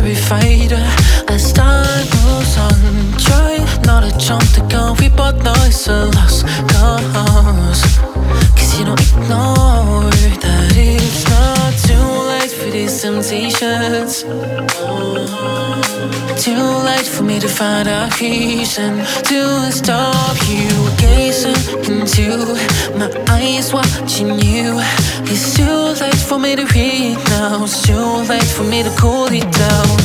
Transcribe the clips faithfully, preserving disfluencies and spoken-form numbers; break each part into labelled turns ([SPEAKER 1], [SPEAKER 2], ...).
[SPEAKER 1] every fighter. As time moves on, try not to jump the gun. We both know it's a lost cause. Cause you don't ignore that it's not too late for these temptations. Too late for me to find a reason to stop you gazing into my eyes, watching you. It's too late for me to read now. It's too late for me to cool it down.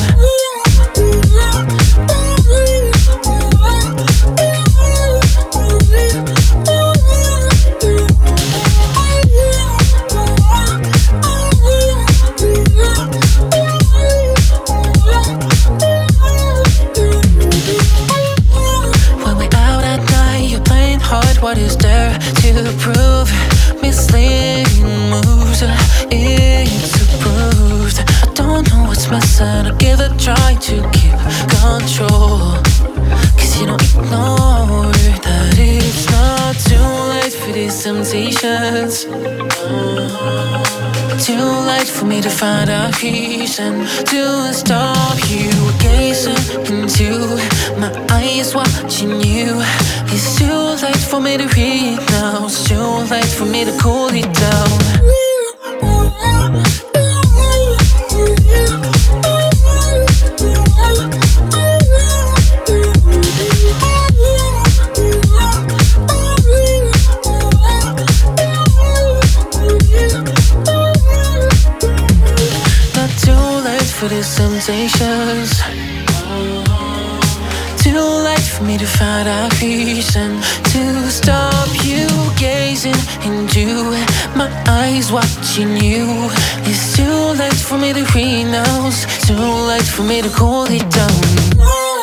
[SPEAKER 1] What is there to prove? Misleading moves, it's approved. I don't know what's missing, I'll give it a try to keep control. Cause you don't ignore that it's not too late for these temptations. Too late for me to find a reason to stop you gazing into my eyes, watching you. It's too late for me to read now. It's too late for me to cool it down. Not too late for these temptations. Too late for me to find a reason to stop you gazing into my eyes, watching you. It's too late for me to read now. It's too late for me to cool it down.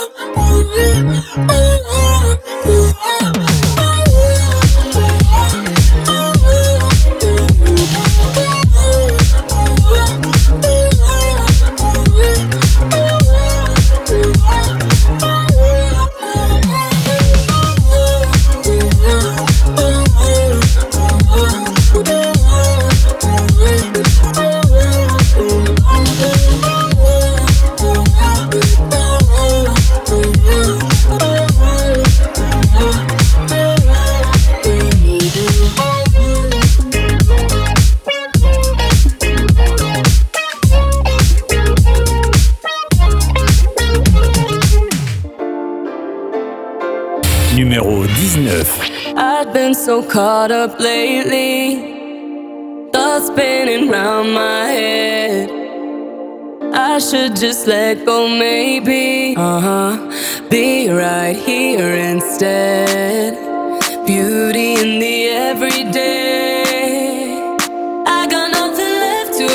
[SPEAKER 2] Numéro dix-neuf.
[SPEAKER 3] I've been so caught up lately, thoughts spinning round my head. I should just let go, maybe. Uh-huh. Be right here instead. Beauty in the everyday. I got nothing left to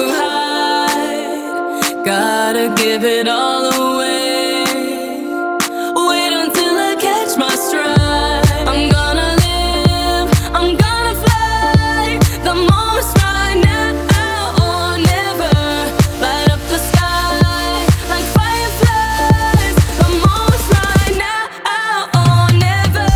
[SPEAKER 3] hide. Gotta give it all away. Wait until I catch my stride. I'm gonna live, I'm gonna fly. The moment's right now or never. Light up the sky like fireflies. The moment's right now or never.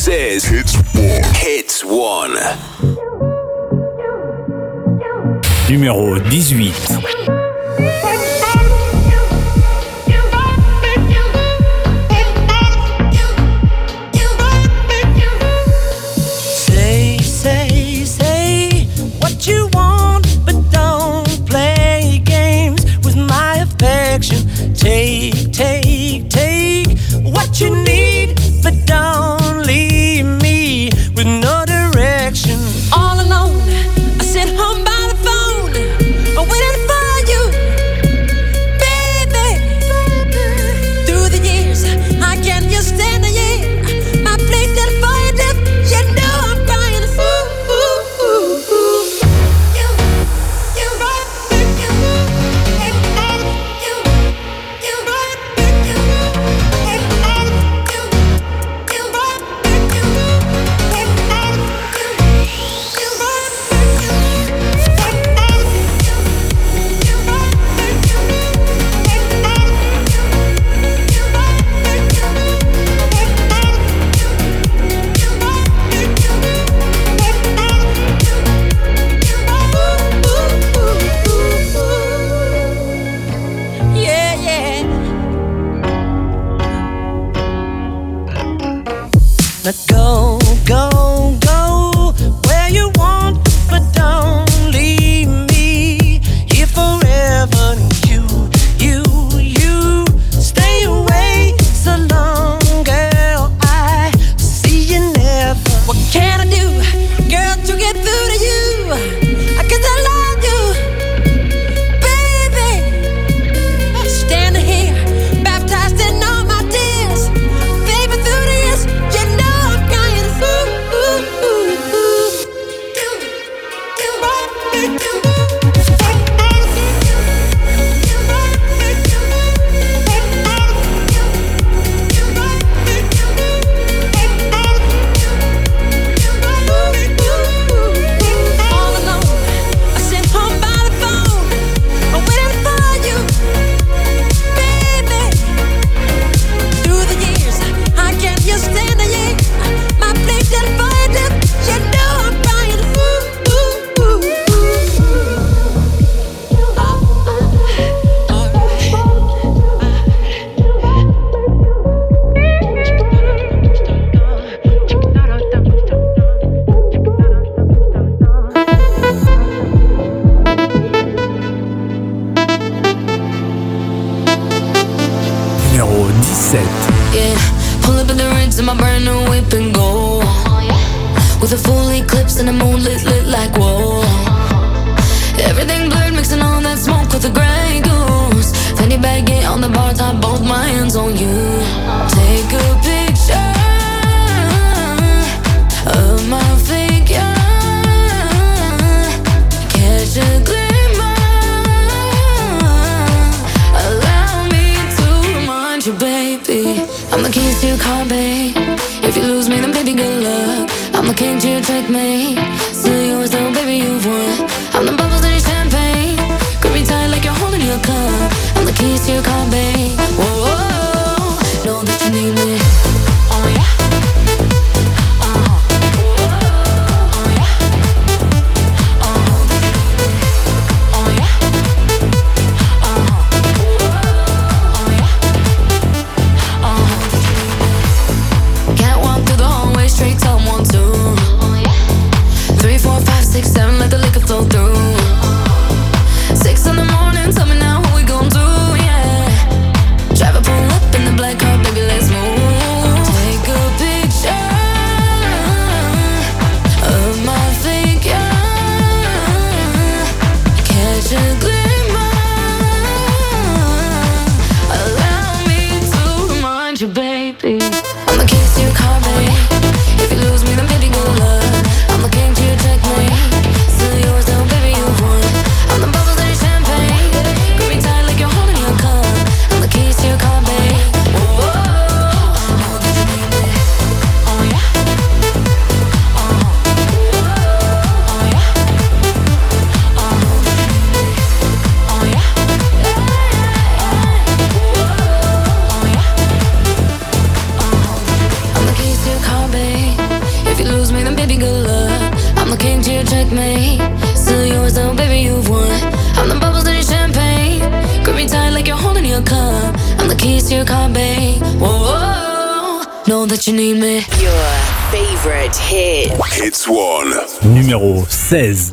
[SPEAKER 2] This is Hits One. Hits One.
[SPEAKER 4] Numéro dix-huit.
[SPEAKER 5] Take, take, take what you need, but don't leave me with no direction. All alone, I sit home by the phone, I'm waiting for you, baby. Through the years, I can't just stand the year. My place is for you, dip. You know I'm crying. Ooh, ooh, ooh, ooh. You, you, you, Now go, go, go where you want, but don't leave me here forever. You, you, you stay away so long, girl. I see you never. What can I do, girl, to get through to you? Cause I love you, baby. Standing here, baptized in all my tears, baby, through the years, you know I'm crying. Ooh, ooh, ooh, ooh. You, you, you. All alone, I sit home by the phone, I'm waiting for you, baby. Through the years, I can't just stand the year. My place is for you, dip. You know I'm crying. Ooh, ooh, ooh, ooh. Uh, uh,
[SPEAKER 4] Numéro dix-sept.
[SPEAKER 3] Yeah, pull up in the rinse in my brand new whip and go. With a full eclipse and the moon lit, lit like whoa. Everything blurred, mixing all that smoke with the Grey Goose. Fanny baggy on the bar top, both my hands on you. Take a picture of my figure. Catch a glimmer. Allow me to remind you, baby, I'm the keys to your car, babe. If you lose me, then baby, good luck. I'm the king to your checkmate. Still yours though, baby, you've won. I'm the bubbles in your champagne. Grip me tight like you're holding your cup. I'm the keys to your car, babe. Whoa, whoa, whoa. Know that you need me. Oh yeah. Uh-huh. Oh yeah. Uh-huh. Oh yeah. Uh-huh. Oh yeah. Uh-huh. Can't walk through the hallway straight to one, two. Three, four, five, six, seven, let the liquor flow through. Six in the morning, tell me now what we gon' do, yeah. promise you can't be. Whoa, know that you need me.
[SPEAKER 6] Your favorite hit.
[SPEAKER 2] Hits one.
[SPEAKER 4] Numéro seize.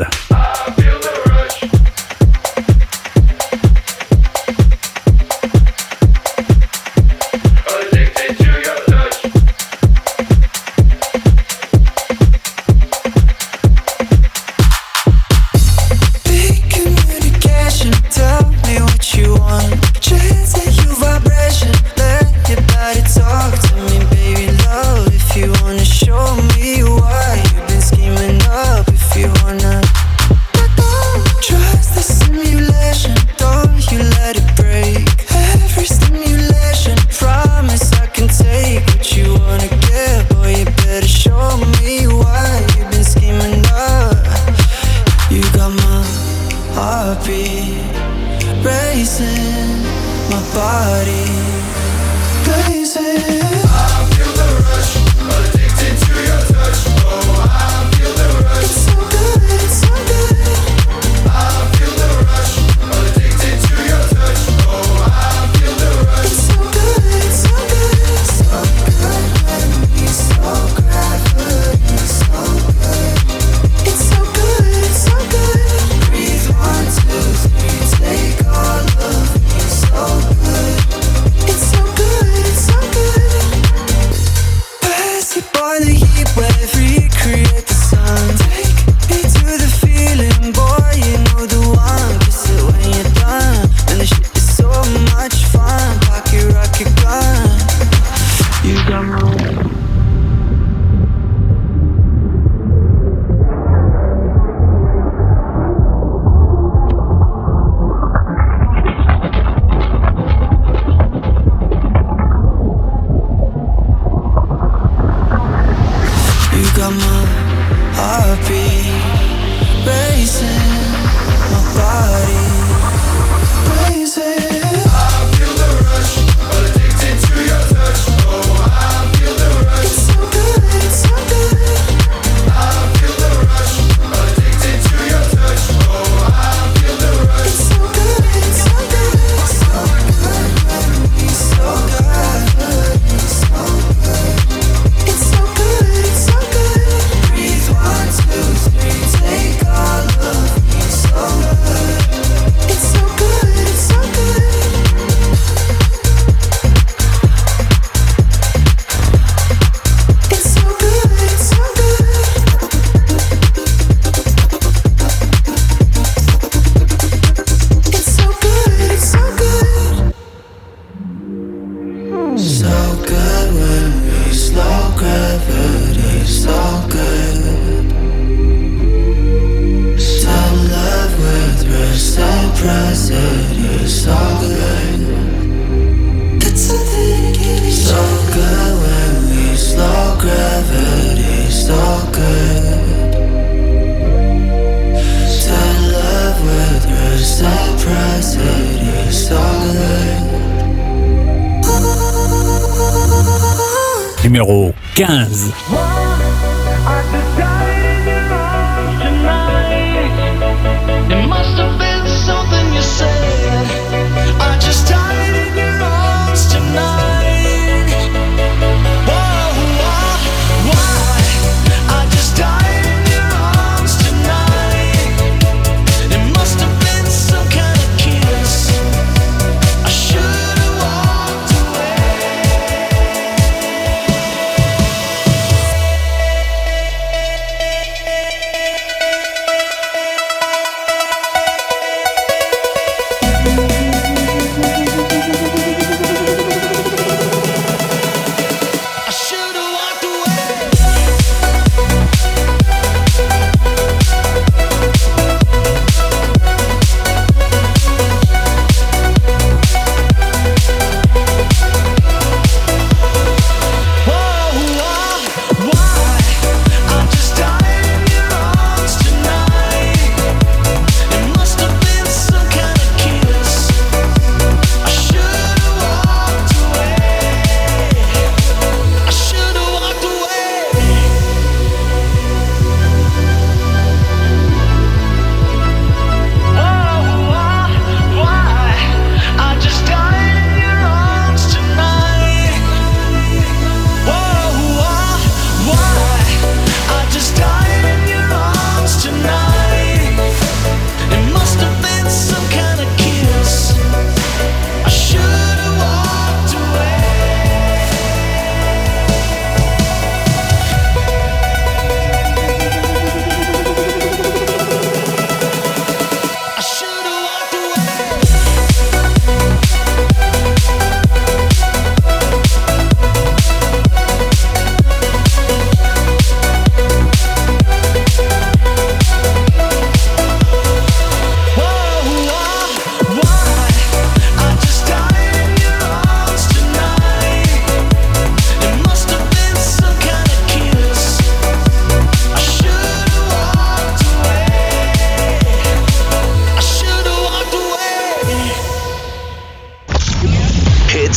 [SPEAKER 4] Numéro quinze.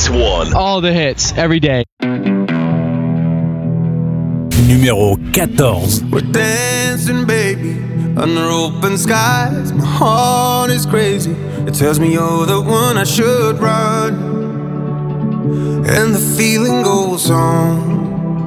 [SPEAKER 2] Hits One.
[SPEAKER 7] All the hits, every day.
[SPEAKER 4] Numéro quatorze.
[SPEAKER 8] We're dancing, baby, under open skies. My heart is crazy. It tells me you're the one I should run. And the feeling goes on.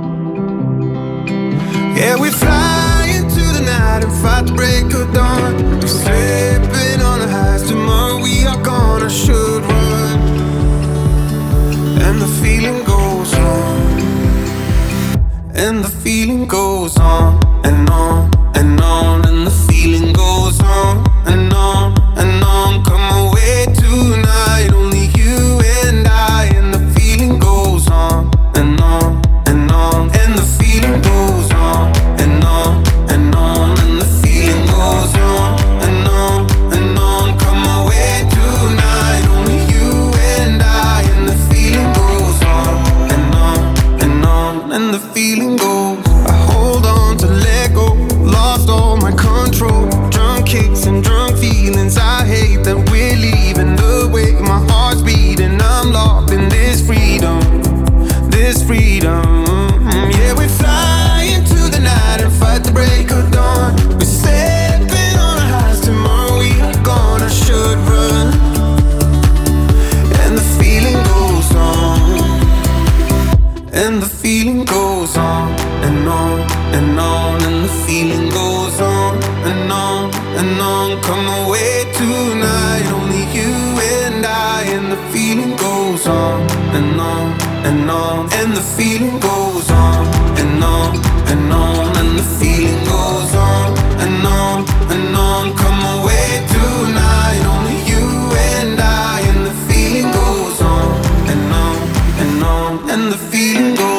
[SPEAKER 8] Yeah, we fly into the night and fight the break of dawn. We're slipping on the highs. Tomorrow we are gone. I should run. And the feeling goes on. And the feeling goes on and on and on. And the feeling goes on and on and on. Come away tonight, only you and I. And the feeling goes on and on and on. And the feeling goes on and on and on. And the feeling goes on and on and on. Come away tonight, only you and I. And the feeling goes on and on and on. And the feeling goes. I hold on to let go. Lost all my control. Drunk kicks and drunk feelings. I hate that we're leaving. The way my heart's beating. I'm locked in this freedom. This freedom. Yeah, we fly into the night and fight the break of dawn. We're stepping on our highs. Tomorrow we are gone. I should run. And the feeling goes on. And the feeling goes on and on and on. And the feeling goes on and on and on. Come away tonight, only you and I. And the feeling goes on and on and on. And the feeling goes on and on and on. And the feeling goes on and on and on. Come away tonight, only you and I. And the feeling goes on and on and on. And the feeling goes.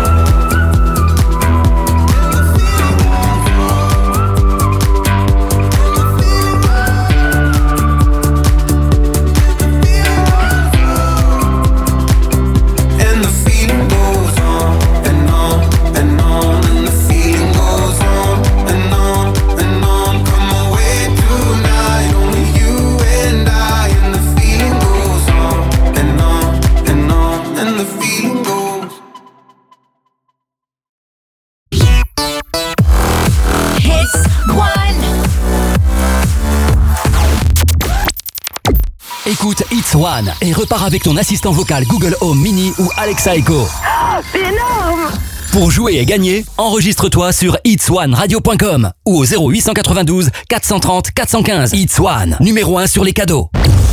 [SPEAKER 9] Écoute Hits One et repars avec ton assistant vocal Google Home Mini ou Alexa Echo.
[SPEAKER 10] Oh, c'est énorme!
[SPEAKER 9] Pour jouer et gagner, enregistre-toi sur hits one radio point com ou au zéro huit cent quatre-vingt-douze quatre cent trente quatre cent quinze. Hits One, numéro un sur les cadeaux.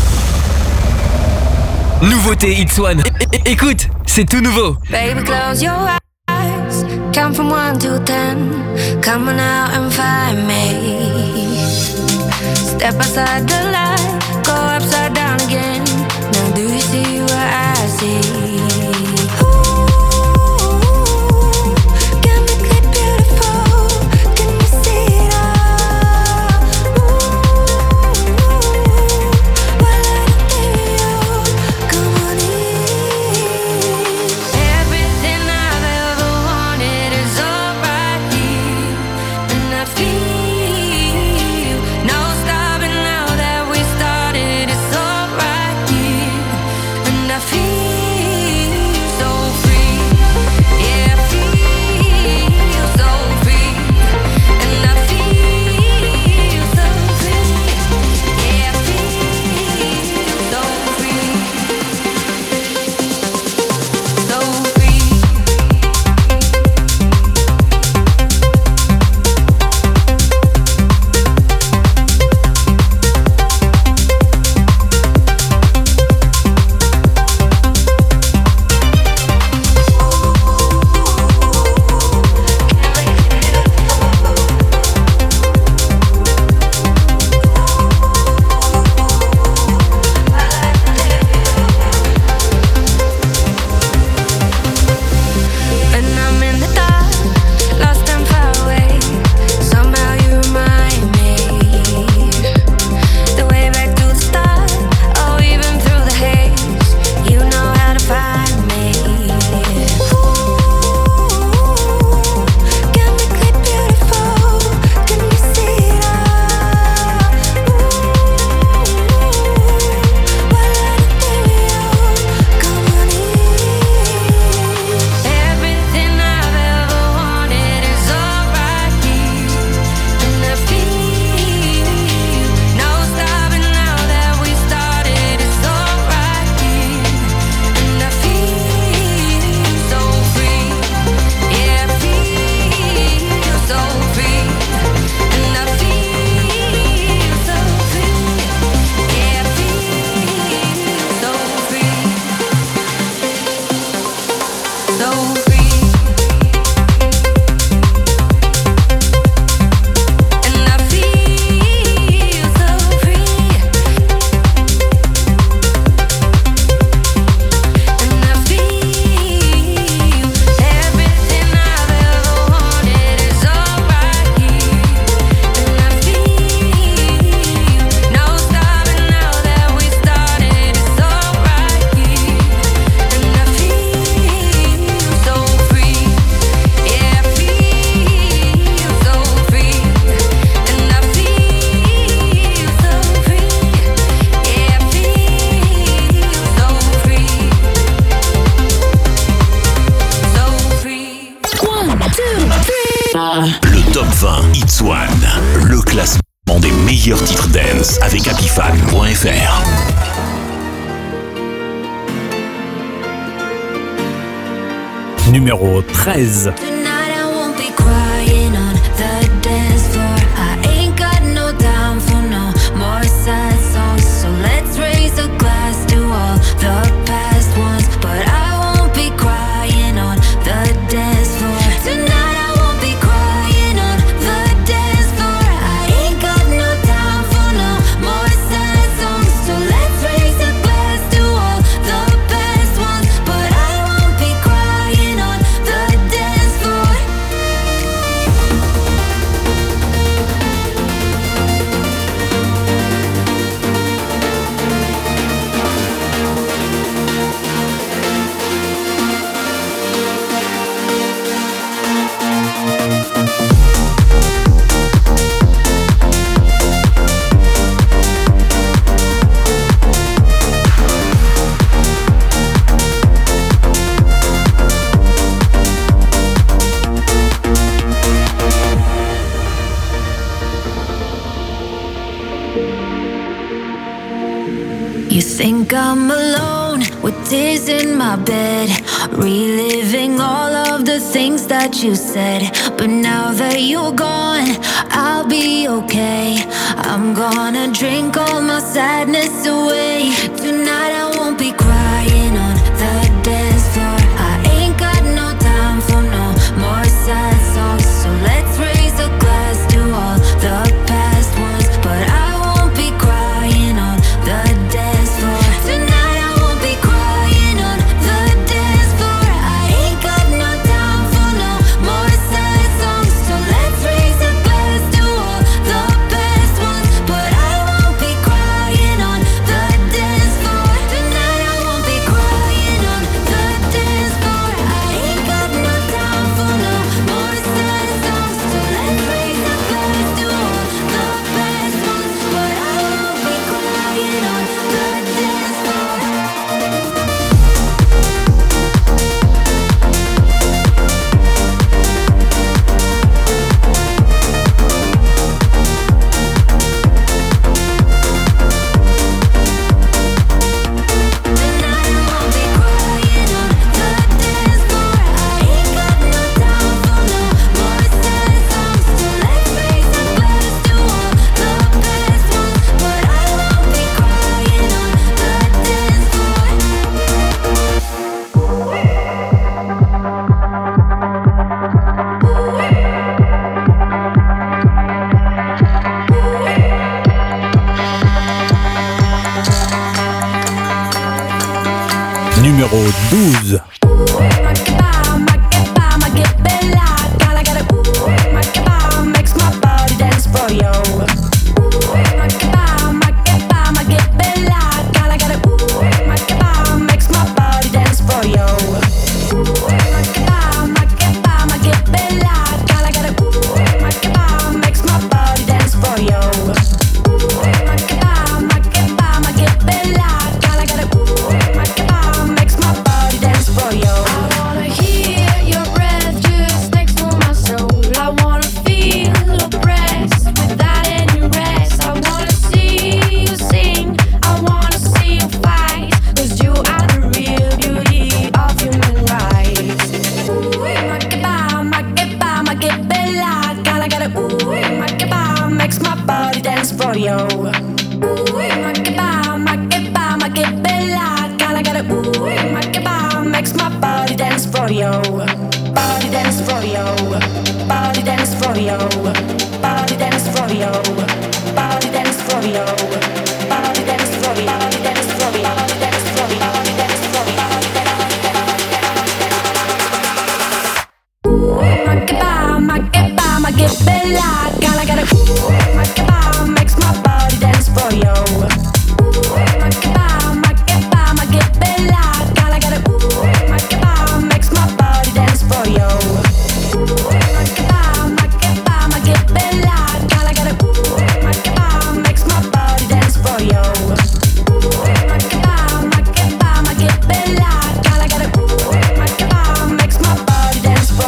[SPEAKER 11] Nouveauté Hits One. É- é- écoute, c'est tout nouveau.
[SPEAKER 3] Baby, close your eyes. Count from one to ten. Come on out and find me. Step outside the light. Go upside down again. Now do you see what I see?
[SPEAKER 12] Feel no stopping now that we started. It's alright.
[SPEAKER 2] meilleurs titres dance avec happyfan point f r.
[SPEAKER 4] Numéro treize.
[SPEAKER 3] You think I'm alone with tears in my bed, reliving all of the things that you said. But now that you're gone, I'll be okay. I'm gonna drink all my sadness away. Tonight I won't be crying on the dance floor. I ain't got no time for no more sad songs. So let's raise a glass to all the past ones. But I won't be crying on the dance floor. Tonight I won't be crying on the dance floor. I ain't got no time for no more sad songs. So let's raise a glass to all the past ones. But I won't be crying on the dance floor. Tonight I won't be crying on the dance floor. I ain't got no time for no more sad songs. So let's raise a glass to all the past ones. But I won't be crying on the dance floor.
[SPEAKER 4] Numéro douze.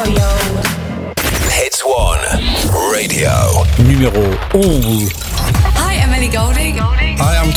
[SPEAKER 2] Hits One Radio.
[SPEAKER 4] Numéro onze.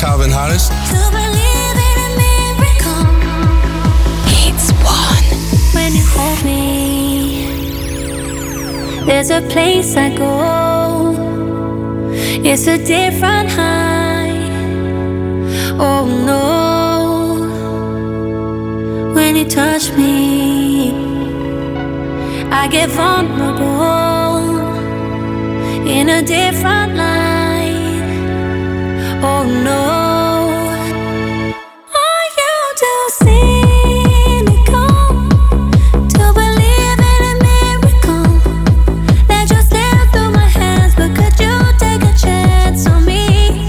[SPEAKER 7] Calvin Harris.
[SPEAKER 3] To believe in a miracle.
[SPEAKER 6] It's one.
[SPEAKER 3] When you hold me, there's a place I go. It's a different high. Oh no. When you touch me, I get vulnerable in a different light. Oh no. Are you too cynical to believe in a miracle that just slipped through my hands? But could you take a chance on me?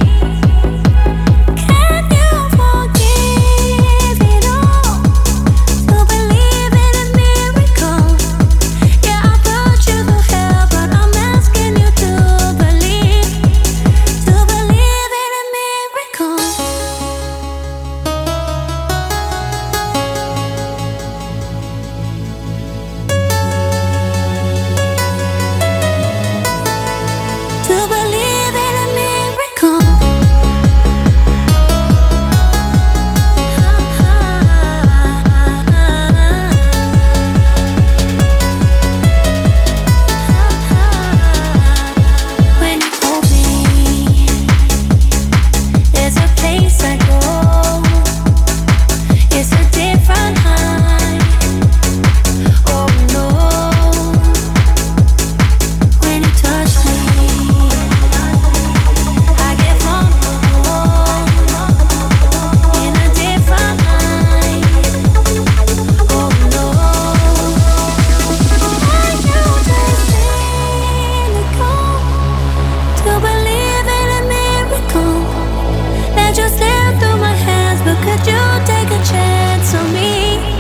[SPEAKER 3] Can you forgive it all to believe in a miracle? Yeah, I put you through hell, but I'm asking you to believe, to believe in a miracle. To believe in a miracle. When you hold me, there's a place I go. It's a different high. Oh no. When you touch me, I get vulnerable in a different light. Oh no. Are you just cynical to believe in a miracle that just slipped through my hands? But could you take a chance on me?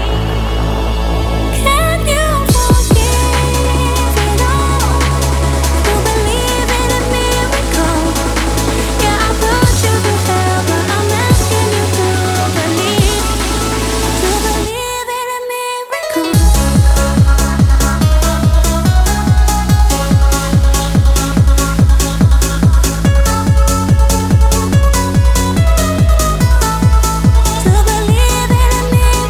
[SPEAKER 3] Can you forgive it all to believe in a miracle? Yeah, I put you through hell, but I'm asking you to believe, to believe in a miracle. To believe in a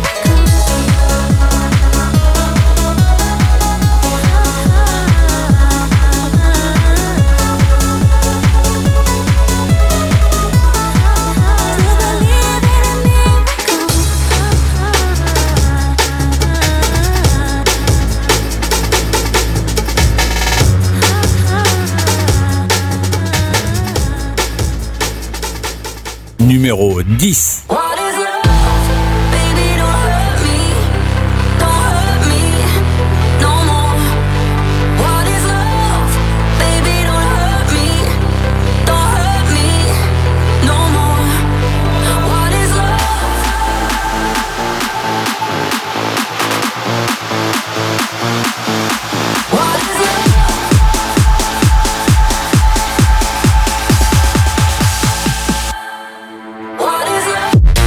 [SPEAKER 4] Numéro dix.
[SPEAKER 3] What is love? Baby, don't hurt me. Don't hurt me no more. What is love? Baby, don't hurt me. Don't hurt me no more. What is love? What is love? What is love?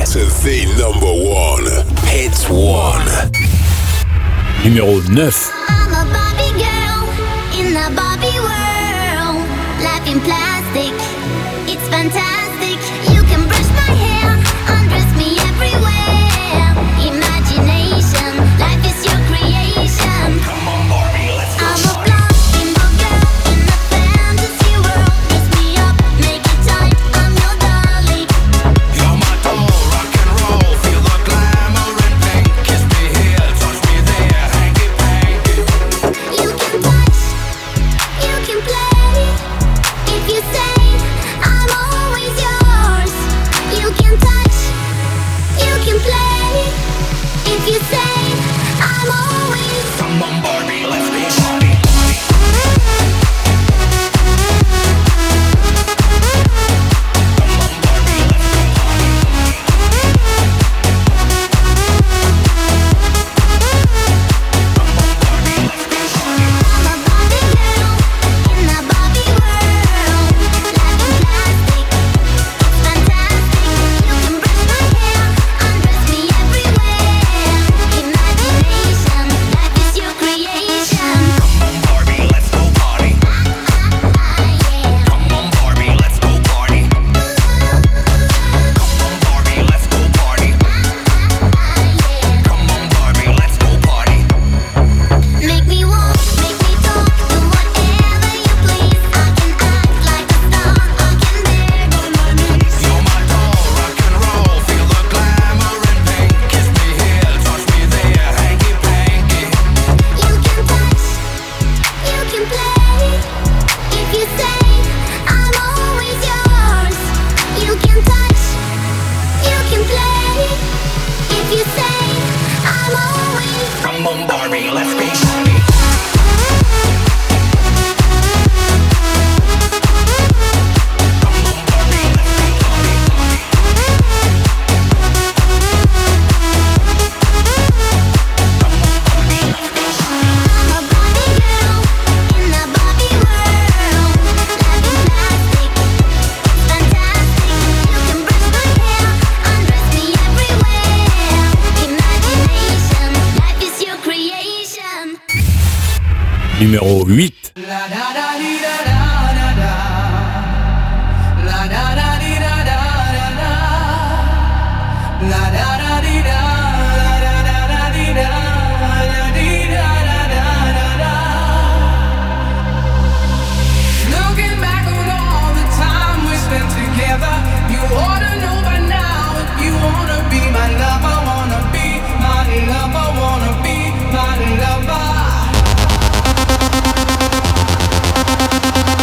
[SPEAKER 2] to the number one. Hits one.
[SPEAKER 4] Numéro neuf.
[SPEAKER 7] I'm a Barbie girl in the Barbie world. Life in plastic, it's fantastic. You can brush my hair, undress me everywhere. Imagination, life is your creation.
[SPEAKER 2] Come on, Barbie, let's go.
[SPEAKER 7] I'm a blonde bimbo girl in a fantasy world. Dress me up, make it tight, I'm your darling.
[SPEAKER 8] You're my doll, rock and roll. Feel the glamour and pink. Kiss me here, touch me there, hanky panky.
[SPEAKER 7] You can touch, you can play. If you say I'm always yours, you can touch, you can play. If you say I'm always.
[SPEAKER 8] Come on, Barbie, let's be Barbie.
[SPEAKER 7] I'm a Barbie girl in the Barbie world. Life in plastic, it's fantastic. You can brush my hair, undress me everywhere. Imagination, life is your creation.
[SPEAKER 8] Come on, Barbie, let's go party. Come on, Barbie, let's go party. Come on, Barbie, let's go party. Come on, Barbie, let's go party.
[SPEAKER 7] Make me walk, make me talk, do whatever you please. I can act like a star, I can bear all my needs.
[SPEAKER 8] You're my doll, rock and roll. Feel the glamour and pink. Kiss me here, touch me there, hanky panky.
[SPEAKER 7] You can touch, you can play. If you say I'm always yours, you can touch, you can play. If you say I'm always.
[SPEAKER 8] Come on, Barbie, let's be Barbie.
[SPEAKER 7] I'm a Barbie girl in the Barbie world. Life in plastic, fantastic. You can brush my hair, undress me everywhere. Imagination, life is your creation.
[SPEAKER 4] Numéro huit.
[SPEAKER 3] Looking back on all the time we spent together, you ought to know by now if you wanna be my lover, wanna be my lover, wanna be my lover.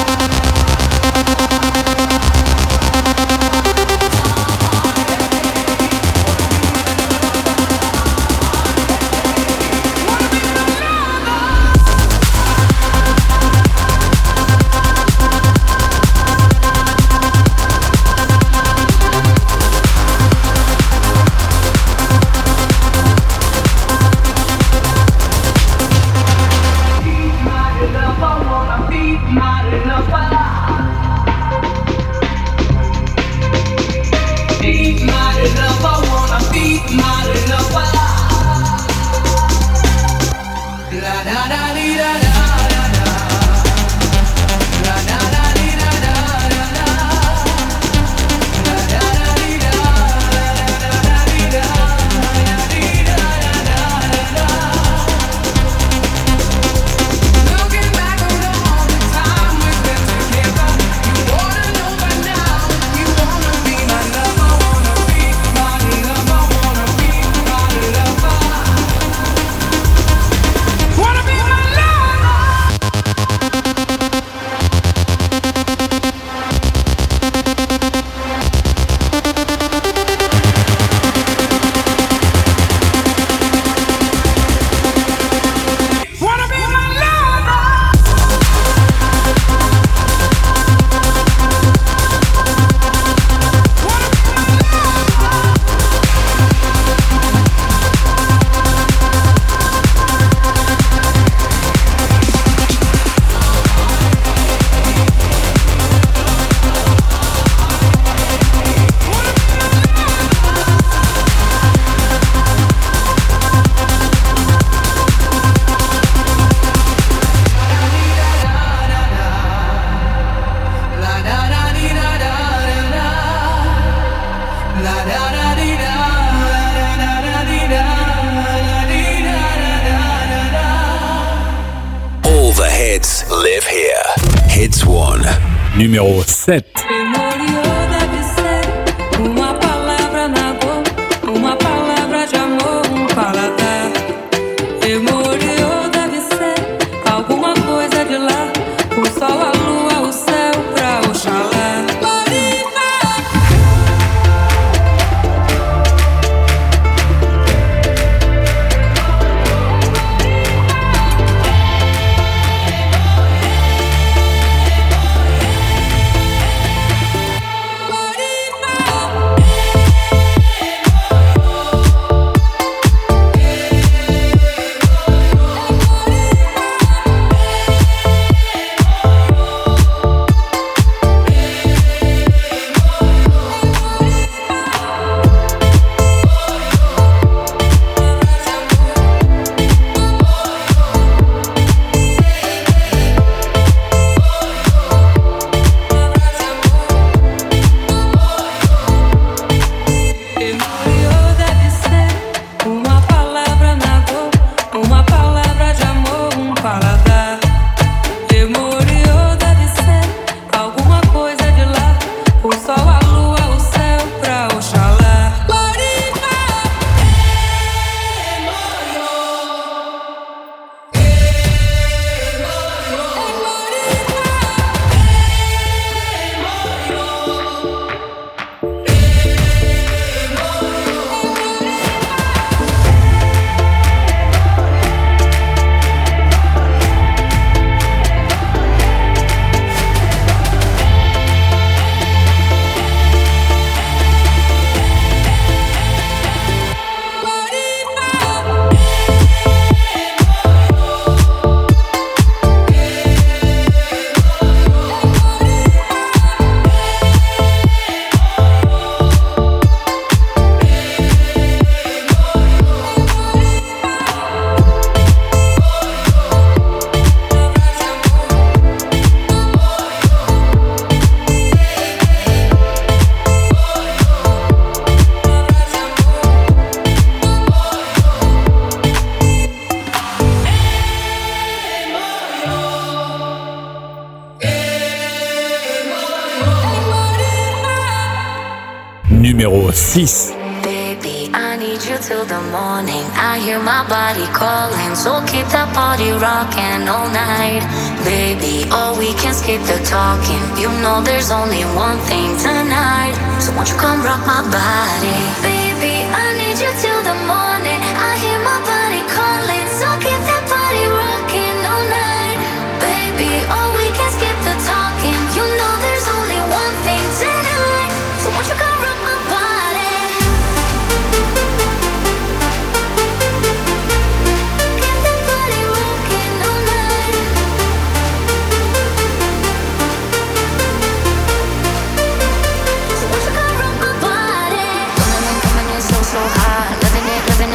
[SPEAKER 2] live here. Hits one.
[SPEAKER 4] Numéro sept.
[SPEAKER 3] Memoriou deve ser uma palavra na boca, uma palavra de amor, um paladar. Memoriou deve ser alguma coisa de lá, o sol, a lua, o céu pra Oxalá.
[SPEAKER 4] Numéro six.
[SPEAKER 12] Baby, I need you till the morning. I hear my body calling, so keep that body rocking all night. Baby, oh, we can skip the talking. You know there's only one thing tonight, so won't you come rock my body? Baby, I need you till the morning. I hear my body calling, so keep that body rocking all night. Baby, oh, we can skip the talking. You know there's only one thing tonight, so won't you come rock my body? So hot, living it, living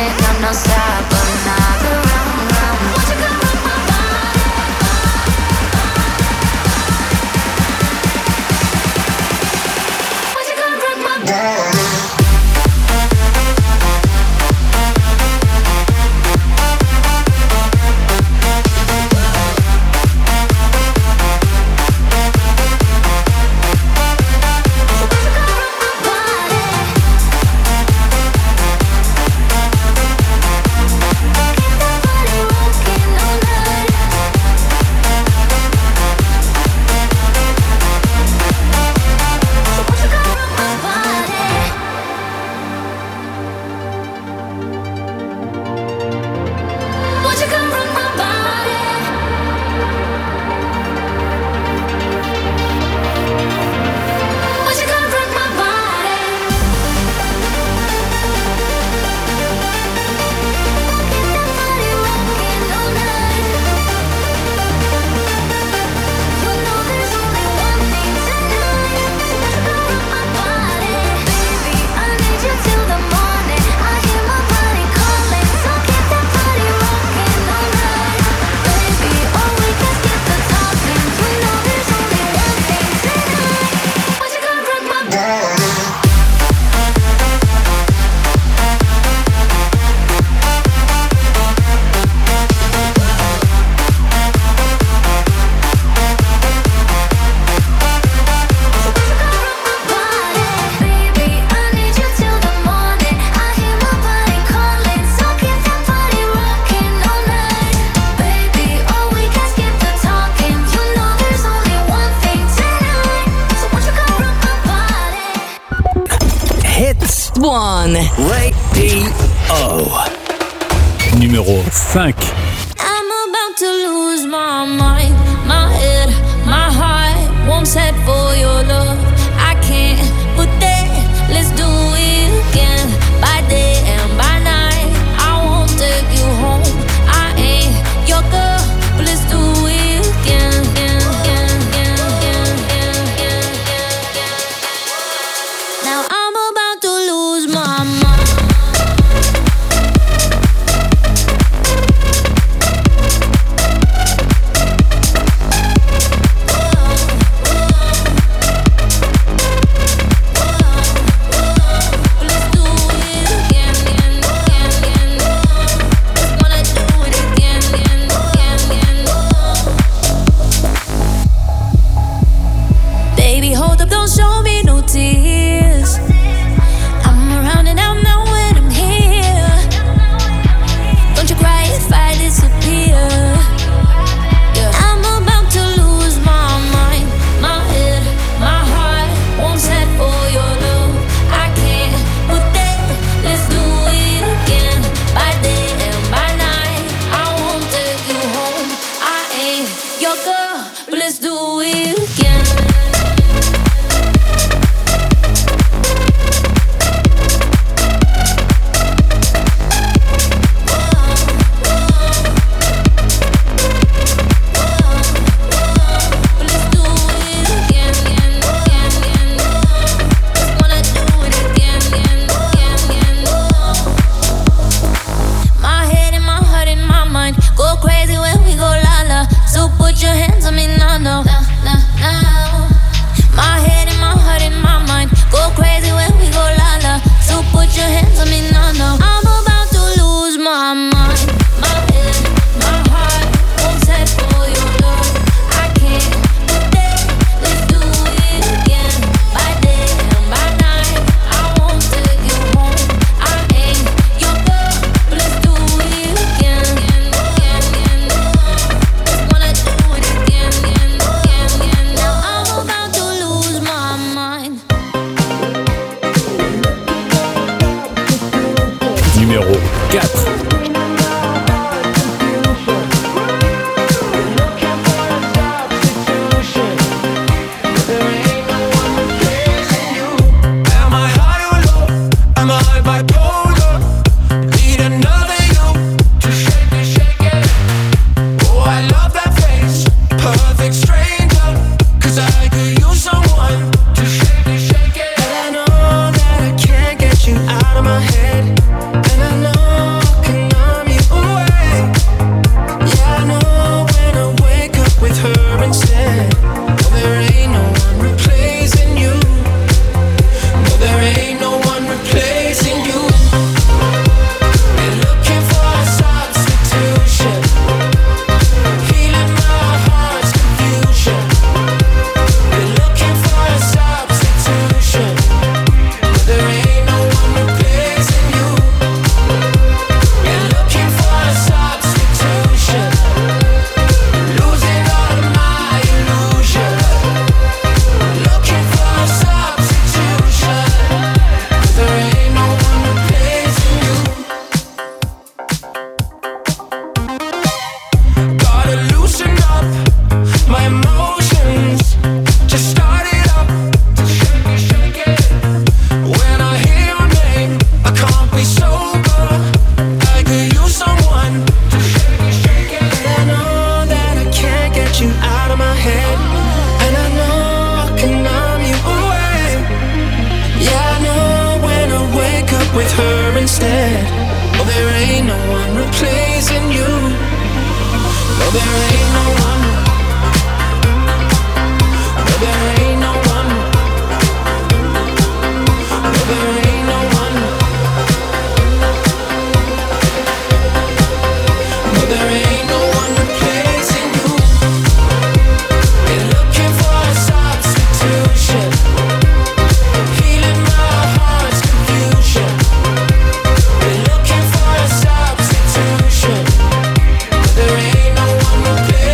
[SPEAKER 13] Radio.
[SPEAKER 4] Numéro cinq.
[SPEAKER 3] I'm about to lose my mind, my head, my heart won't set for your love. I can't put that, let's do it again. By day and by night, I won't take you home. I ain't your girl, but let's do it again. Now I'm about to lose my mind. Don't show me no tears. I'm around and I'm not when I'm here. Don't you cry if I disappear. Yeah. I'm about to lose my mind, my head, my heart won't set for your love. I can't put that, let's do it again. By day and by night, I won't take you home. I ain't your girl, but let's do it again. Put your hands on me now, no, no, no, no. My head and my heart and my mind go crazy when we go la la. So put your hands on me now, no. I'm about to lose my mind. My head, my heart won't set for your love. I can't put that, let's do it again. By day and by night, I won't take you home. I ain't your girl, but let's do it again.
[SPEAKER 4] Numéro quatre.
[SPEAKER 8] There ain't no one to play.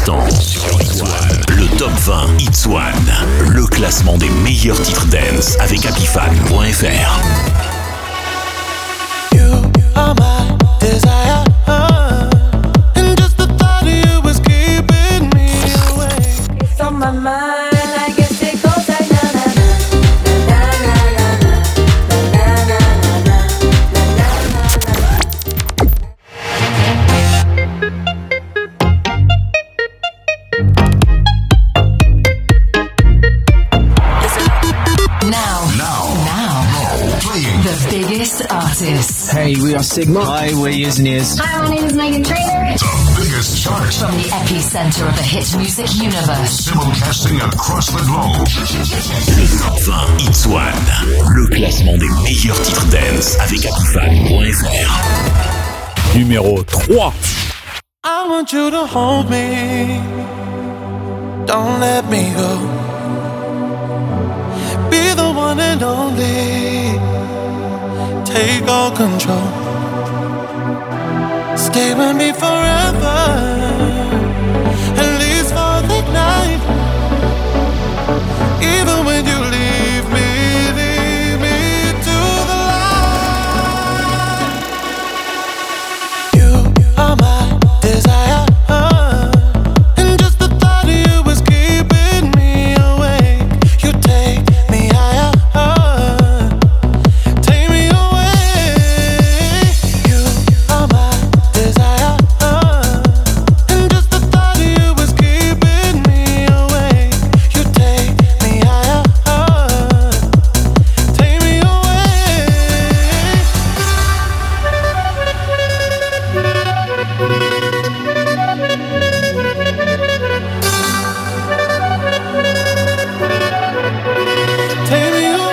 [SPEAKER 13] instants. Le top vingt Hits One. Le classement des meilleurs titres dance avec happy fan point f r.
[SPEAKER 5] You are my desire. And just the thought of you was keeping me awake.
[SPEAKER 3] It's on my mind. I guess it goes like na na na na na na na na na
[SPEAKER 14] Now, now, now, playing the biggest artists.
[SPEAKER 15] Hey, we are Sigma. Hi, we're Years and Years.
[SPEAKER 14] Hi, my name is Megan Trainor.
[SPEAKER 16] The biggest chart.
[SPEAKER 14] From the epicenter of the hit music universe.
[SPEAKER 16] Simulcasting across the globe.
[SPEAKER 13] Le top vingt Hits One. Le classement des meilleurs titres dance avec happy fan point f r.
[SPEAKER 4] Numéro trois.
[SPEAKER 5] I want you to hold me. Don't let me go. Be the one and only. Take all control. Stay with me forever. At least for the night. Even when you leave me, leave me to the light. You are my desire. And just the thought of you was keeping me awake. You take me higher. Take me away. You are my desire. And just the thought of you was keeping me awake. You take me higher. Take me away. Take me away.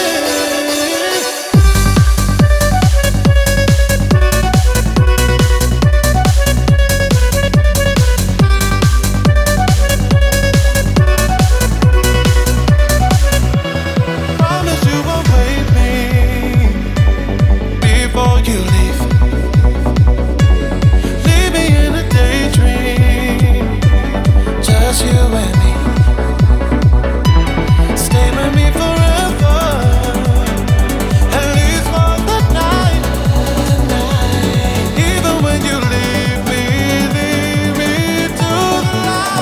[SPEAKER 5] Promise you won't wake me before you leave. Leave me in a daydream, just you and me. Stay with me forever, at least for the night. Even when you leave me, leave me to the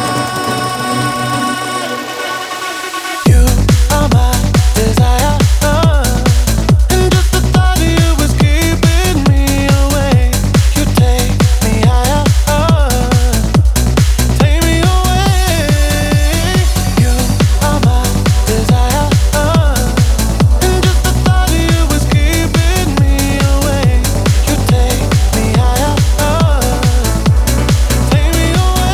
[SPEAKER 5] light. You are my desire, and just the thought of you was keeping me awake. You take me higher, take me away. You are my desire, and just the thought of you was keeping me awake. You take me higher, take me away.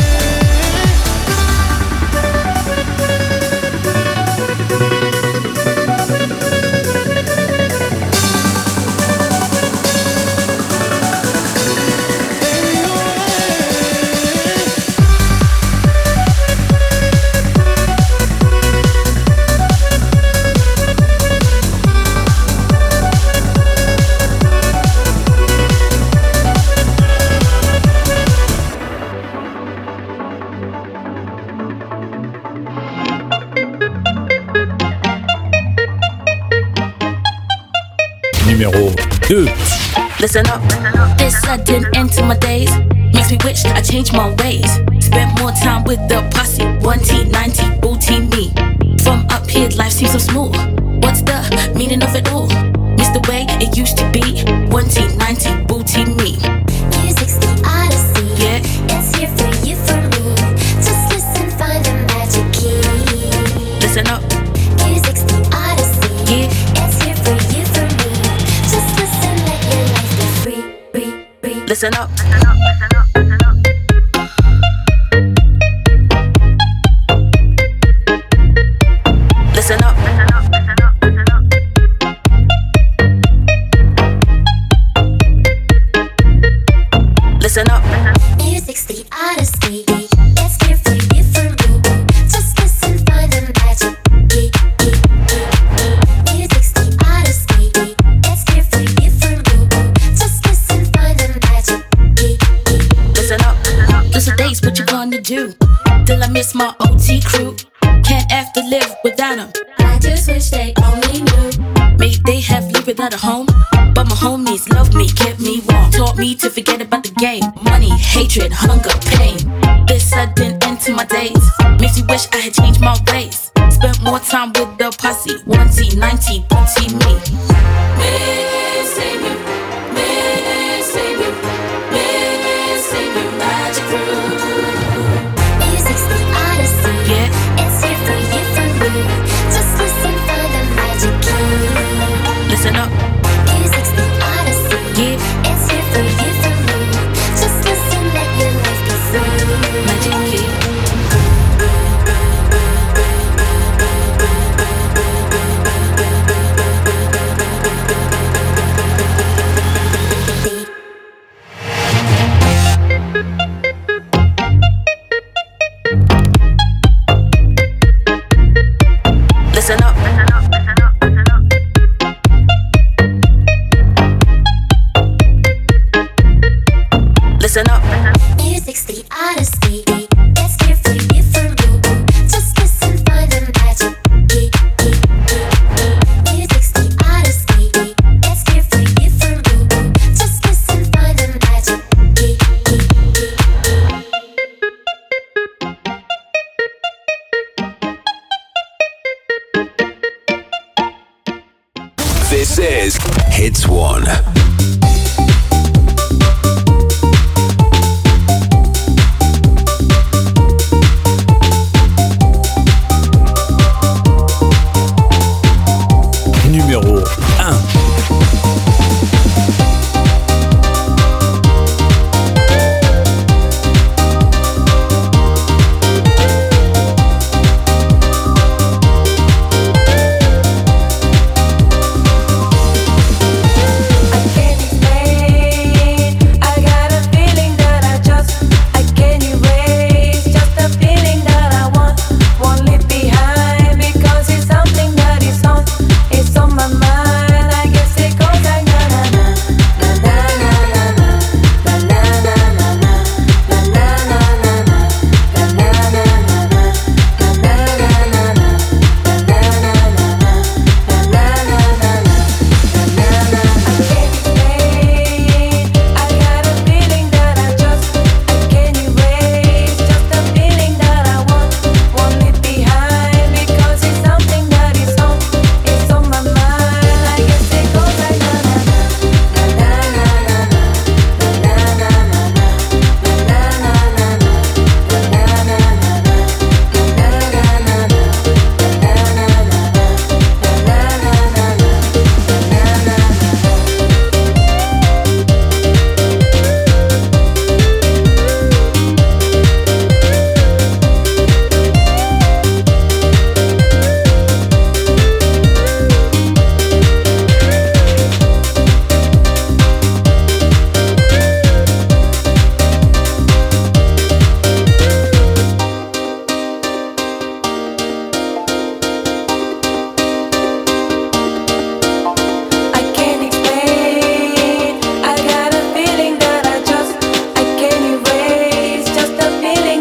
[SPEAKER 4] Numéro deux.
[SPEAKER 17] Listen up. This sudden end to my days makes me wish I changed my ways. Spent more time with the posse. one T ninety booty me. From up here, life seems so smooth. What's the meaning of it all? Miss the way it used to be. one T ninety booty me.
[SPEAKER 7] Music's the odyssey.
[SPEAKER 17] Yeah.
[SPEAKER 7] It's here for you, for me. Just listen, find the magic key.
[SPEAKER 17] Listen up.
[SPEAKER 7] Music's the odyssey.
[SPEAKER 17] Yeah.
[SPEAKER 7] It's here for you, for me. Just listen, let your life be free, free, free.
[SPEAKER 17] Listen up. Listen up. Listen up.
[SPEAKER 7] Music's the odyssey. It's here for you, for me. Just listen, find the magic key, key, key, key. Music's the odyssey. It's here for you, for me. Just listen, find the magic key, key, key.
[SPEAKER 17] do. Till I miss my O T crew. Can't have to live without them.
[SPEAKER 3] I just wish they only knew.
[SPEAKER 17] May they have lived without a home, but my homies loved me, kept me warm, taught me to forget about the game. Money, hatred, hunger, pain. This sudden end to my days makes me wish I had changed my ways. Spent more time with the posse, one T, ninety, booty me.
[SPEAKER 3] Missing you, missing you, missing you, magic crew.
[SPEAKER 7] Music's the odyssey.
[SPEAKER 17] Yeah.
[SPEAKER 7] It's here for you, for me. Just listen for the magic key.
[SPEAKER 17] Listen up.
[SPEAKER 7] Music's the odyssey.
[SPEAKER 17] Yeah.
[SPEAKER 7] It's here for you, for me. Just listen, let your life be free.
[SPEAKER 17] Magic key. Listen up. Listen up.
[SPEAKER 7] Music's the odyssey. It's here for you, for me. Just listen for the magic key. Music's the odyssey. It's here for you, for me. Just listen for the magic key.
[SPEAKER 2] This is Hits One.
[SPEAKER 4] Numéro un.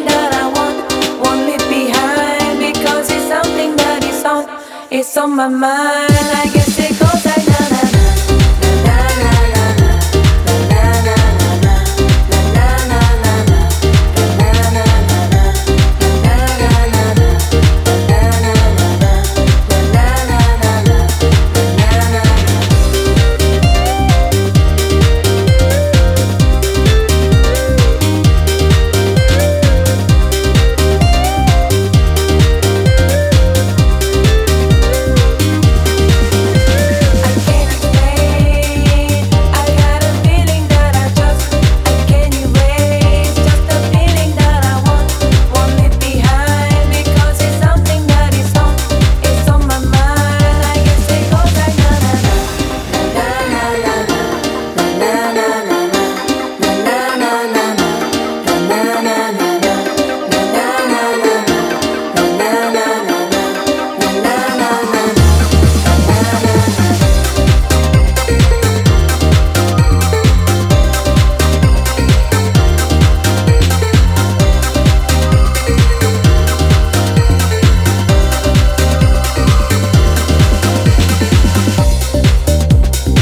[SPEAKER 18] on my mind.